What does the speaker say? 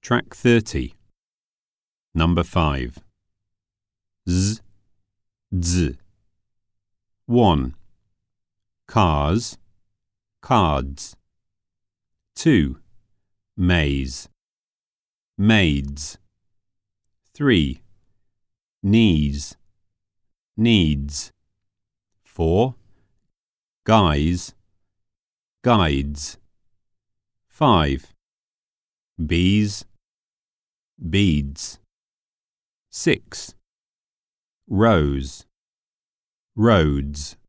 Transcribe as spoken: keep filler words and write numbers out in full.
Track thirty. Number five. Z, z. One. Cars, cards. Two. Maze, maids. Three. Knees, needs. Four. Guys, guides. Five. Bees, beads. Six. Rows, roads.